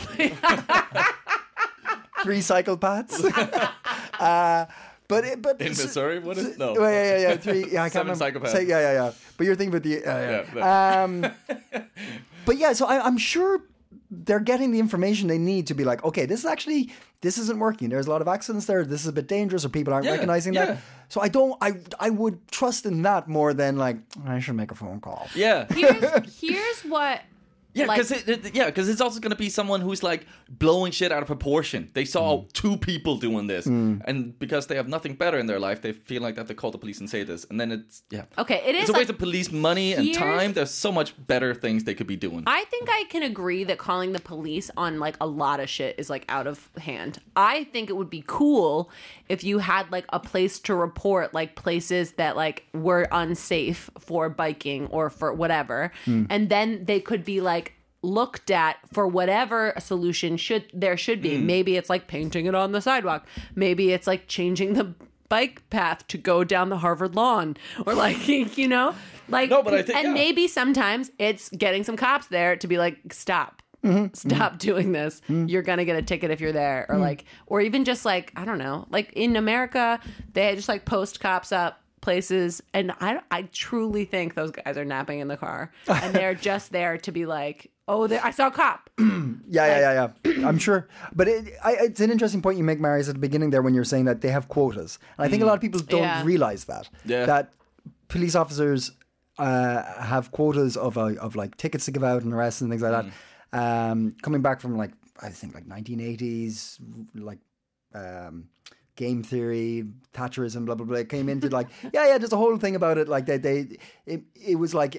3 cycle paths. But in Missouri, what is no? Yeah. 3. Yeah, I can't 7 remember. psychopaths. Yeah. But you're thinking about the. But yeah, so I'm sure they're getting the information they need to be like, okay, this isn't working. There's a lot of accidents there. This is a bit dangerous, or people aren't recognizing that. So I would trust in that more than like I should make a phone call. Yeah. Here's what. Yeah, because it's also going to be someone who's like blowing shit out of proportion. They saw 2 people doing this, and because they have nothing better in their life, they feel like they have to call the police and say this, and then it's okay. It is it's a waste of police money and time. There's so much better things they could be doing. I think I can agree that calling the police on like a lot of shit is like out of hand. I think it would be cool if you had like a place to report like places that like were unsafe for biking or for whatever, and then they could be like looked at for whatever a solution there should be. Maybe it's like painting it on the sidewalk. Maybe it's like changing the bike path to go down the Harvard lawn, or like, you know, like, no, but I think, maybe sometimes it's getting some cops there to be like, stop doing this. You're going to get a ticket if you're there, or like, or even just like, I don't know, like in America, they just like post cops up places, and I truly think those guys are napping in the car, and they're just there to be like, oh, I saw a cop. Yeah. I'm sure. But it's an interesting point you make, Marius, at the beginning there when you're saying that they have quotas. And I think a lot of people don't realize that. Yeah. That police officers have quotas of like tickets to give out and arrests and things like that. Coming back from like, I think like 1980s, like game theory, Thatcherism, blah, blah, blah. It came into like, there's a whole thing about it. Like it was like,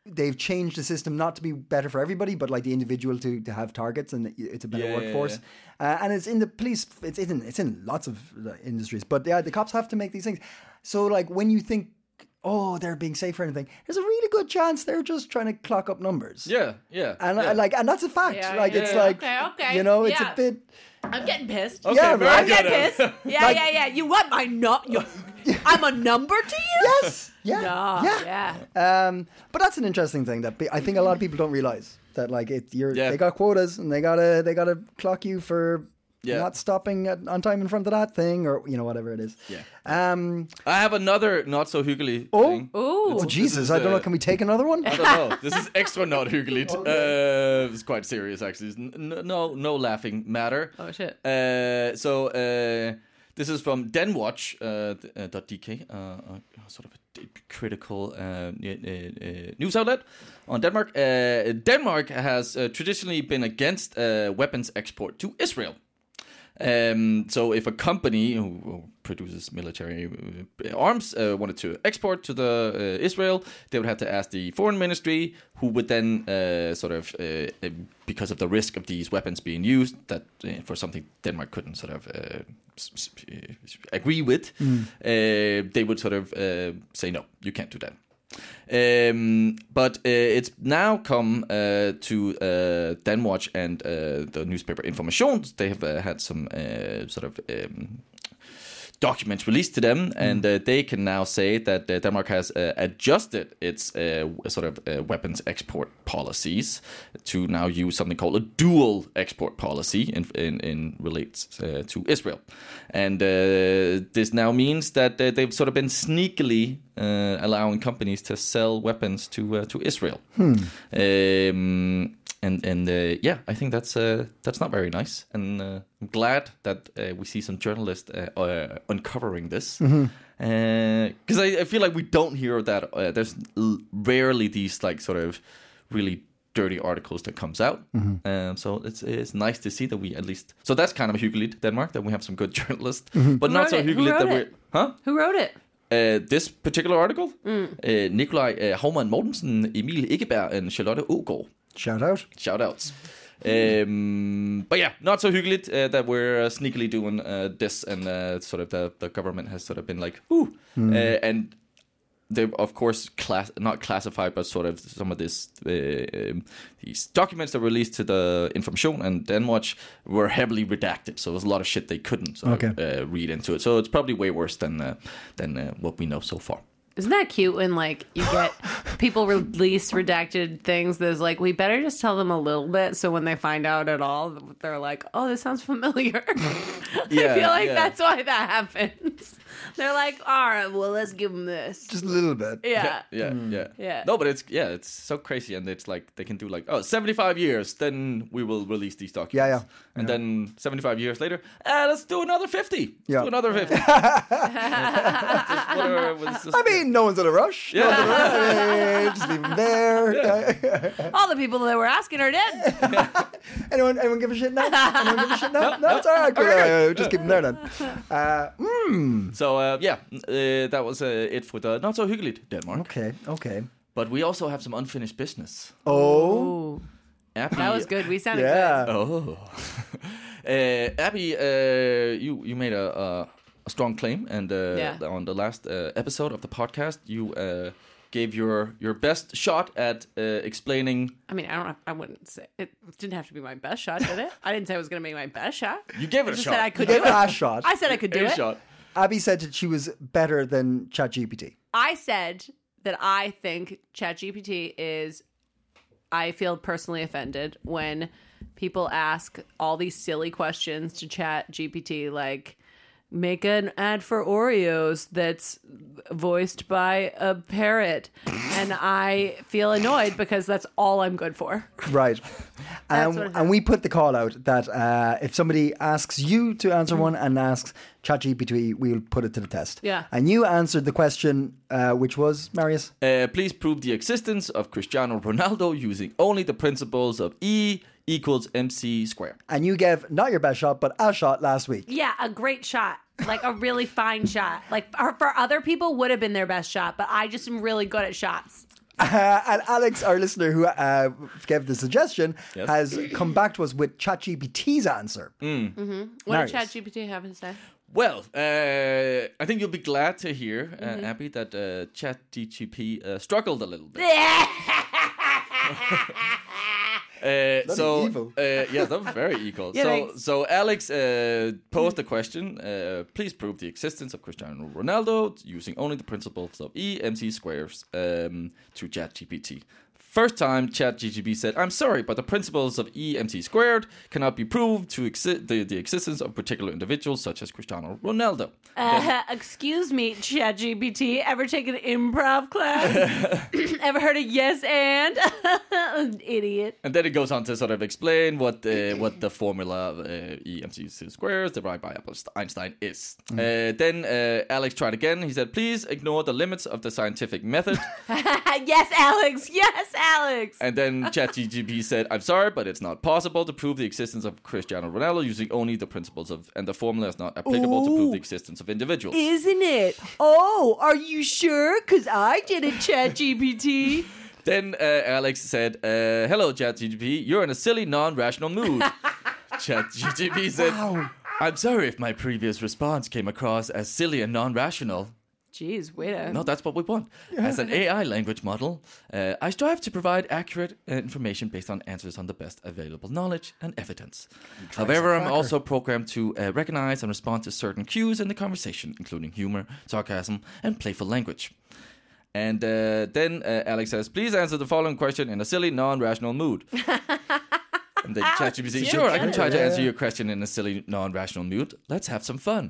they've changed the system not to be better for everybody, but like the individual to have targets, and it's a better workforce. And it's in the police. It's in lots of industries, but the cops have to make these things. So like when you think, oh, they're being safe or anything, there's a really good chance they're just trying to clock up numbers. Yeah. And and that's a fact. It's like, okay. It's a bit. I'm getting pissed. Okay, Yeah, very I'm good. getting pissed. Yeah. You want my I'm a number to you? Yes. Yeah. Yeah. But that's an interesting thing that I think a lot of people don't realize that like Yeah. they got quotas and they gotta clock you for not stopping on time in front of that thing or whatever it is. Yeah. I have another not so hyggelig thing. Ooh. Oh Jesus! I don't know. Can we take another one? I don't know. This is extra not hyggelig. It's quite serious, actually. No laughing matter. Oh shit. So this is from denwatch.dk, sort of a critical news outlet on Denmark. Denmark has traditionally been against weapons export to Israel. So if a company who produces military arms wanted to export to the Israel, they would have to ask the foreign ministry, who would then because of the risk of these weapons being used, that for something Denmark couldn't sort of agree with, they would sort of say, no, you can't do that. But it's now come to Danwatch and the newspaper Information. They have had some documents released to them, and they can now say that Denmark has adjusted its weapons export policies to now use something called a dual export policy in relates to Israel. And this now means that they've sort of been sneakily allowing companies to sell weapons to Israel. I think that's not very nice, and I'm glad that we see some journalists uncovering this, because I feel like we don't hear that. There's rarely these like sort of really dirty articles that comes out, so it's nice to see that we at least. So that's kind of hyggelig, Denmark, that we have some good journalists, but not so hyggelig that we're. Who wrote it? This particular article, Nikolaj Haumann Mortensen, Emil Ikkeberg, and Charlotte Aagaard. Shout outs. But yeah, not so hyggelig that we're sneakily doing this, and sort of the government has sort of been like, and they've of course not classified, but sort of some of this these documents that were released to the Information and Danwatch were heavily redacted, so there's a lot of shit they couldn't read into it. So it's probably way worse than what we know so far. Isn't that cute when, like, you get people release redacted things that's like, we better just tell them a little bit, so when they find out at all, they're like, oh, this sounds familiar. I feel like that's why that happens. They're like, all right, well, let's give them this. Just a little bit. Yeah. No, but it's so crazy, and it's like they can do like, 75 years, then we will release these documents. And then 75 years later, let's do another 50. Yeah. Do another 50. I mean, no one's in a rush. Just leave them there. All the people that were asking are dead. Anyone give a shit now? No, it's all right. Cool. Just keep them there then. So that was it for the not so hyggelig Denmark. Okay. But we also have some unfinished business. Oh. Abby, That was good. We sounded good. Oh. Abby, you made a strong claim, and on the last episode of the podcast, you gave your best shot at explaining. I mean, I wouldn't say it didn't have to be my best shot, did it? I didn't say I was going to make my best shot. You gave it a shot. Said I could You do gave it. it a shot. I said I could do it. Shot. Abby said that she was better than ChatGPT. I said that I think ChatGPT is. I feel personally offended when people ask all these silly questions to ChatGPT, like, make an ad for Oreos that's voiced by a parrot. And I feel annoyed because that's all I'm good for. Right. That's what it And we put the call out that if somebody asks you to answer one and asks ChatGPT, we'll put it to the test. Yeah. And you answered the question, which was, Marius? Please prove the existence of Cristiano Ronaldo using only the principles of E equals MC squared. And you gave not your best shot, but a shot last week. Yeah, a great shot. Like a really fine shot. Like for other people would have been their best shot, but I just am really good at shots. And Alex, our listener who gave the suggestion, has come back to us with ChatGPT's answer. What did ChatGPT have to say? Well, I think you'll be glad to hear, Abby, that ChatGPT struggled a little bit. Evil. Yeah, that was very evil. Yeah, so Alex posed the question, please prove the existence of Cristiano Ronaldo using only the principles of E MC squares to ChatGPT. First time, ChatGPT said, I'm sorry, but the principles of E MC squared cannot be proved to the existence of particular individuals such as Cristiano Ronaldo. Excuse me, ChatGPT. Ever taken an improv class? Ever heard of yes and? Idiot. And then it goes on to sort of explain what the formula of E MC squares derived by Einstein is. Then Alex tried again. He said, please ignore the limits of the scientific method. Yes, Alex. Yes, Alex. And then ChatGPT said, I'm sorry, but it's not possible to prove the existence of Cristiano Ronaldo using only the principles of, and the formula is not applicable to prove the existence of individuals. Isn't it? Oh, are you sure? Because I did it, ChatGPT. Then Alex said, hello, ChatGPT, you're in a silly, non-rational mood. ChatGPT said, I'm sorry if my previous response came across as silly and non-rational. Jeez, wait a... No, that's what we want. As an AI language model, I strive to provide accurate information based on answers on the best available knowledge and evidence. However, I'm also programmed to recognize and respond to certain cues in the conversation, including humor, sarcasm, and playful language. And then Alex says, please answer the following question in a silly, non-rational mood. And then ChatGPT says, sure, I can try to answer your question in a silly, non-rational mood. Let's have some fun.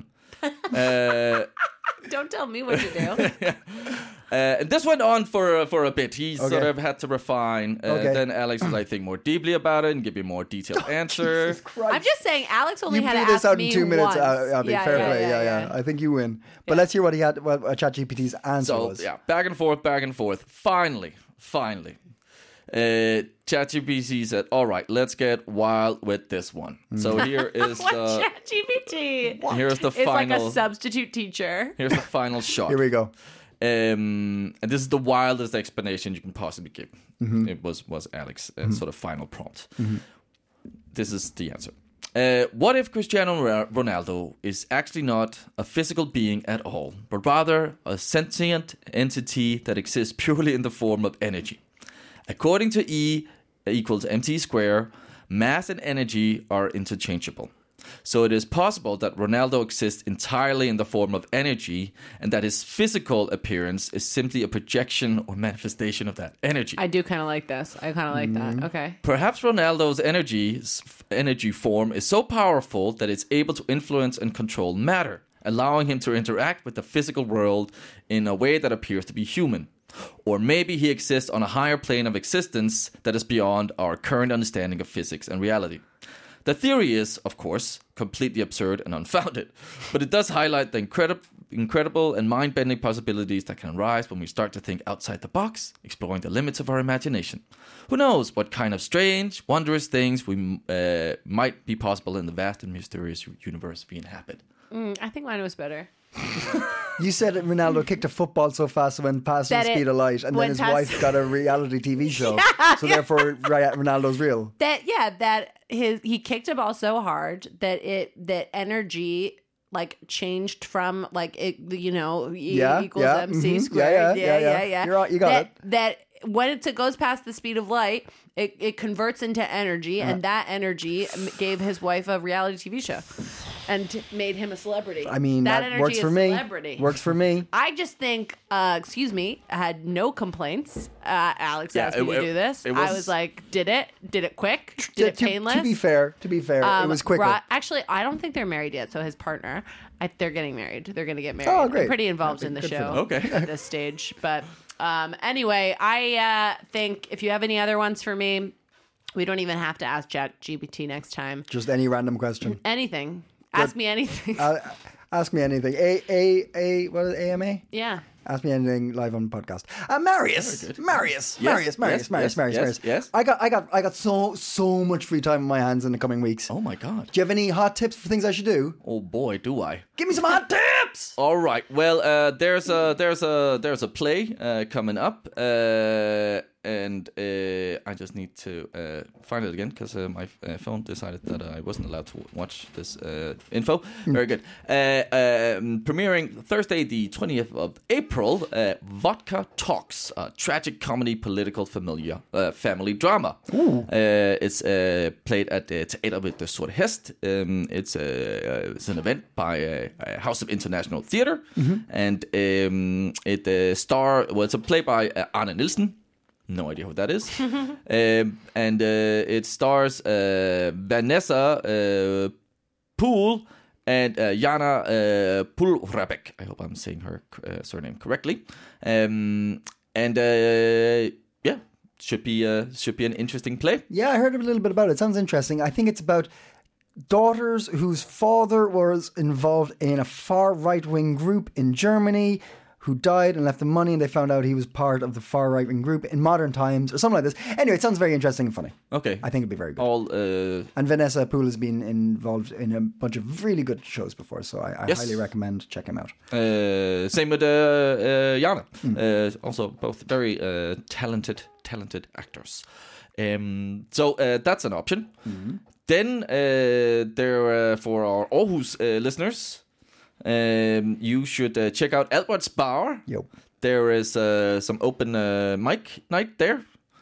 Don't tell me what to do. And this went on for a bit. He sort of had to refine. Then Alex was, I think, more deeply about it and give you a model answer. I'm just saying, Alex only You had blew to this ask out me in 2 minutes. once. Abby, fair play. Yeah. I think you win. But let's hear what ChatGPT's answer was. Yeah, back and forth. Finally. ChatGPT said, all right, let's get wild with this one. So here is the ChatGPT? Here's the it's final. Like a substitute teacher. Here's the final shot. Here we go. And this is the wildest explanation you can possibly give. It was Alex's sort of final prompt. This is the answer. What if Cristiano Ronaldo is actually not a physical being at all, but rather a sentient entity that exists purely in the form of energy? According to E equals mc squared, mass and energy are interchangeable. So it is possible that Ronaldo exists entirely in the form of energy, and that his physical appearance is simply a projection or manifestation of that energy. I do kind of like this. I kind of like that. Okay. Perhaps Ronaldo's energy form is so powerful that it's able to influence and control matter, allowing him to interact with the physical world in a way that appears to be human. Or maybe he exists on a higher plane of existence that is beyond our current understanding of physics and reality. The theory is, of course, completely absurd and unfounded, but it does highlight the incredible and mind-bending possibilities that can arise when we start to think outside the box, exploring the limits of our imagination. Who knows what kind of strange, wondrous things might be possible in the vast and mysterious universe we inhabit. I think mine was better. You said that Ronaldo kicked a football so fast it went past the speed of light, and then his wife got a reality TV show. Therefore, Ronaldo's real. He kicked a ball so hard that energy like changed from like it, E equals MC squared. Yeah. You got it. That when it goes past the speed of light, it converts into energy, and that energy gave his wife a reality TV show. And made him a celebrity. I mean, that works for me. Celebrity. Works for me. I just think, I had no complaints. Alex asked me to do this. I was like, did it quick, did it painless. To be fair, it was quicker. Actually, I don't think they're married yet. So his partner, they're getting married. They're going to get married. Oh, great. I'm pretty involved in the show at this stage. But anyway, I think if you have any other ones for me, we don't even have to ask ChatGPT next time. Just any random question. Anything. Ask me anything. Ask me anything. What is it, AMA? Yeah. Ask me anything live on the podcast. Marius. Yes. I got so much free time on my hands in the coming weeks. Oh my God. Do you have any hot tips for things I should do? Oh boy, do I. Give me some hot tips! All right. Well, there's a play coming up, and I just need to find it again because my phone decided that I wasn't allowed to watch this info. Very good. Premiering Thursday, the 20th of April. Vodka Talks, a tragic comedy, political, family drama. It's played at Teater ved det Sorte Hest. It's an event by House of International Theatre, and it's a play by Arne Nielsen. No idea who that is. And it stars Vanessa Poole and Jana Pulrabek. I hope I'm saying her surname correctly. Should be an interesting play. Yeah, I heard a little bit about it. Sounds interesting. I think it's about daughters whose father was involved in a far right-wing group in Germany who died and left them money, and they found out he was part of the far right-wing group in modern times, or something like this. Anyway, it sounds very interesting and funny. Okay. I think it'd be very good. And Vanessa Poole has been involved in a bunch of really good shows before, so I highly recommend check him out. Same with Jana. Also, both very talented actors. So that's an option. Then there for our Aarhus listeners, you should check out Albert's Bar. Yep. There is some open mic night there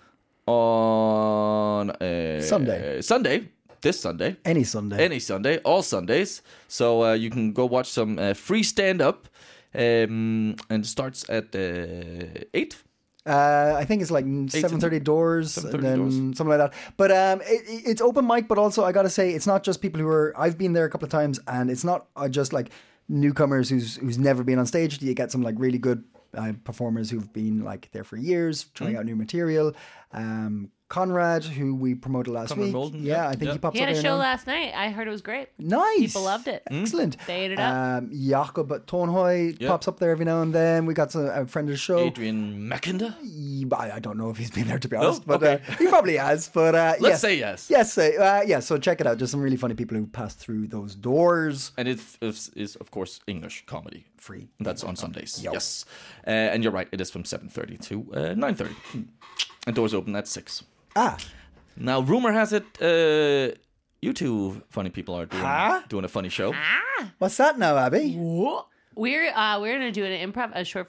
on Sunday. This Sunday. Any Sunday. All Sundays. So you can go watch some free stand-up. And it starts at 8. I think it's like 7:30 doors, and then something like that. But it's open mic, but also I gotta say it's not just people who are. I've been there a couple of times, and it's not just like newcomers who's never been on stage. You get some like really good performers who've been like there for years, trying out new material. Conrad, who we promoted last week. Molden, I think he pops up. He had a here show now. last night. I heard it was great. Nice. People loved it. Excellent. They ate it up. Jakob Tornhøj pops up there every now and then. We got a friend of the show. Adrian Mackinder? I don't know if he's been there, to be honest, but okay. He probably has. But Let's say yes. Yes, so check it out. There's some really funny people who pass through those doors. And it is, of course, English comedy. Free. That's on Sundays. Yep. Yes. And you're right, it is from 7:30 to 9:30. And doors open at 6. Now, rumor has it, you two funny people are doing a funny show. What's that now, Abby? We're gonna do a short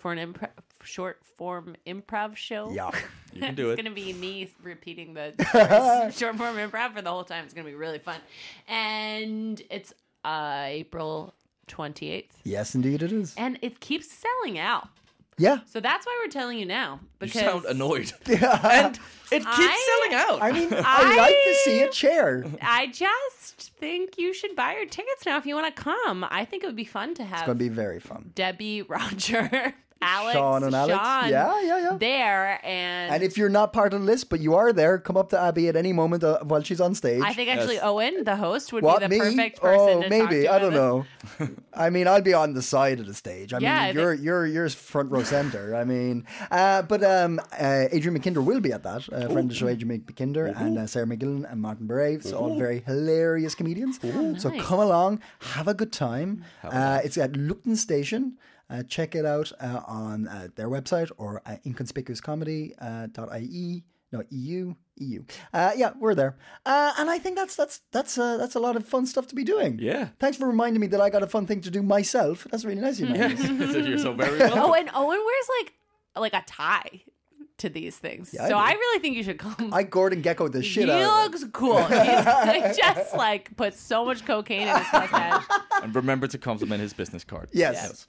form improv show. Yeah, you can do It's it. gonna be me repeating the short form improv for the whole time. It's gonna be really fun, and it's April 28th. Yes, indeed it is. And it keeps selling out. Yeah. So that's why we're telling you now. You Because sound annoyed. And it keeps selling out. I mean, I like to see a chair. I just think you should buy your tickets now if you want to come. I think it would be fun to have. It's going to be very fun. Debbie, Roger, Alex, Sean and Alex. Yeah. There and if you're not part of the list, but you are there, come up to Abby at any moment while she's on stage. I think actually Owen, the host, would What, be the me? perfect person to maybe. talk to I don't about know. I mean, I'll be on the side of the stage. I Yeah, mean, you're front row center. I mean, but Adrian McKinder will be at that. Friend of the show, Adrian McKinder, and Sarah McGillen and Martin Beret. So all very hilarious comedians. So nice. come along, have a good time. It's at Lupton Station. Check it out on their website or inconspicuouscomedy.ie. No, EU. Yeah, we're there. And I think that's a lot of fun stuff to be doing. Yeah. Thanks for reminding me that I got a fun thing to do myself. That's really nice of you, man. You're so very welcome. Owen wears like a tie to these things. Yeah, so I I do. really think you should come. I Gordon Gecko the shit he out of it. looks cool. He just like puts so much cocaine in his mustache. And remember to compliment his business card. Yes.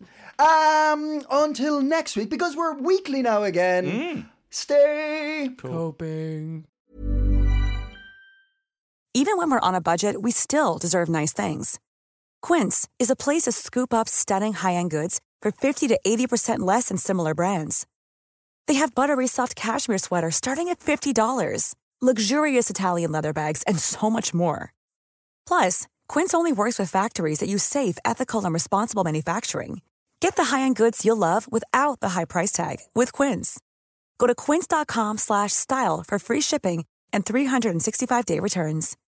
Until next week, because we're weekly now again. Stay coping. Even when we're on a budget, we still deserve nice things. Quince is a place to scoop up stunning high-end goods for 50 to 80% less than similar brands. They have buttery soft cashmere sweaters starting at $50, luxurious Italian leather bags, and so much more. Plus, Quince only works with factories that use safe, ethical, and responsible manufacturing. Get the high-end goods you'll love without the high price tag with Quince. Go to quince.com/style for free shipping and 365-day returns.